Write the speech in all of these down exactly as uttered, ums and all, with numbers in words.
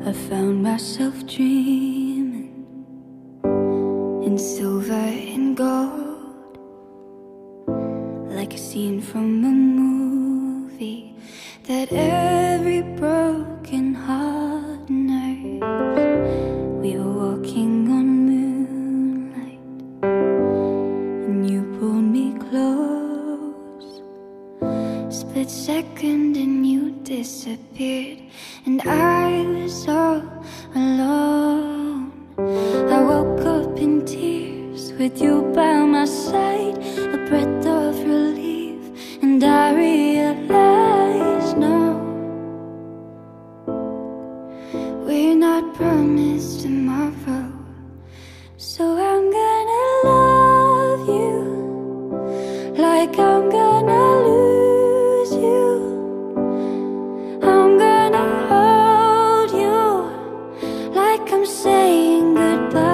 I found myself dreaming in silver and gold, like a scene from a movie that every broken heart knows. We were walking on moonlight and you pulled me close. Split second and you disappeared, and I was all alone. I woke up in tears with you by my side, a breath of relief, and I realized no, we're not promised tomorrow. So I'm gonna love you like I'm gonna lose you. I'm gonna hold you like I'm saying goodbye.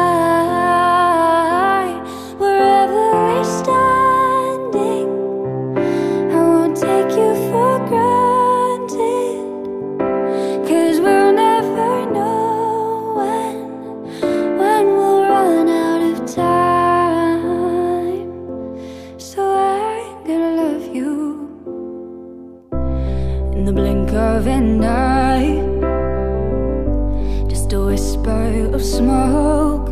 Wherever we're standing, I won't take you for granted, 'cause we'll never know when, when we'll run out of time. So I'm gonna love you in the blink of an eye, just a whisper of smoke.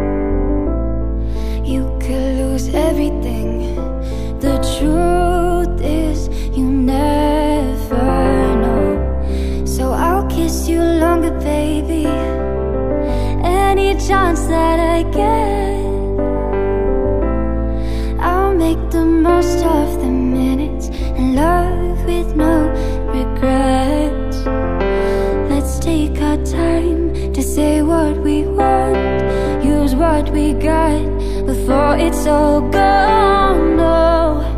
You could lose everything. The truth is you never know. So I'll kiss you longer, baby, any chance that I get. I'll make the most of the minutes and love with no regrets. Let's take our time to say what we want, use what we got before it's all gone. No,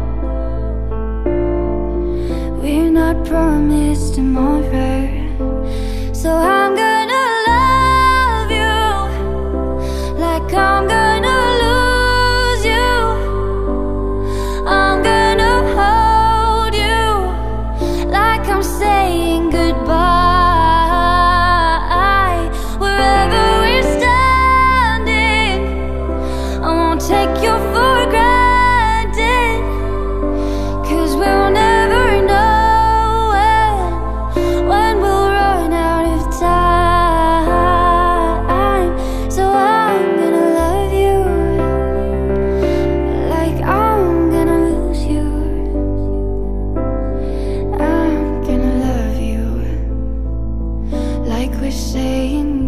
we're not promised tomorrow. So I'm gonna love you like I'm gonna lose you. I'm gonna hold you like I'm saying goodbye. Wherever we're standing, I won't take you for granted, 'cause we'll never know when, when we'll run out of time. So I'm gonna love you like I'm gonna lose you. I'm gonna love you like we're saying